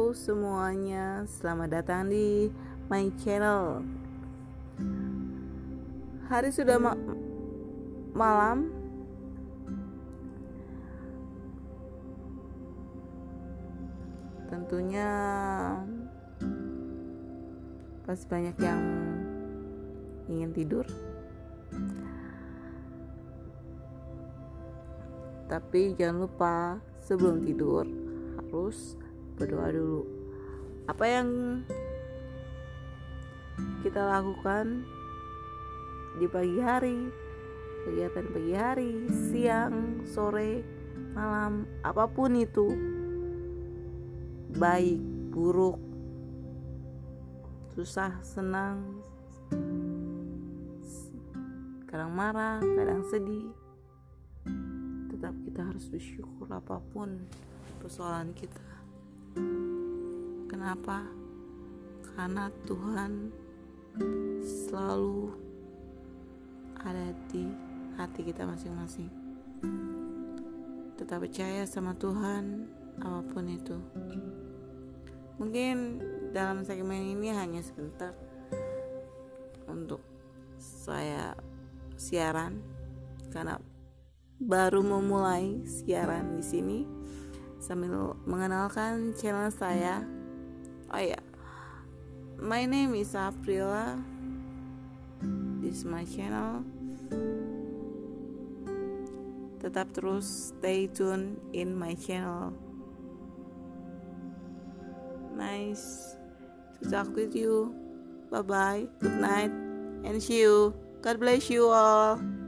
Halo semuanya, selamat datang di my channel. Hari sudah malam. Tentunya pasti banyak yang ingin tidur. Tapi jangan lupa sebelum tidur harus berdoa dulu. Apa yang kita lakukan di pagi hari, kegiatan pagi hari, siang, sore, malam, apapun itu, baik, buruk, susah, senang, kadang marah, kadang sedih, tetap kita harus bersyukur apapun persoalan kita. Kenapa? Karena Tuhan selalu ada di hati kita masing-masing. Tetap percaya sama Tuhan apapun itu. Mungkin dalam segmen ini hanya sebentar untuk saya siaran karena baru memulai siaran di sini sambil mengenalkan channel saya. Oh ya, my name is Aprila. This is my channel. Tetap terus stay tune in my channel. Nice to talk with you. Bye bye. Good night and see you. God bless you all.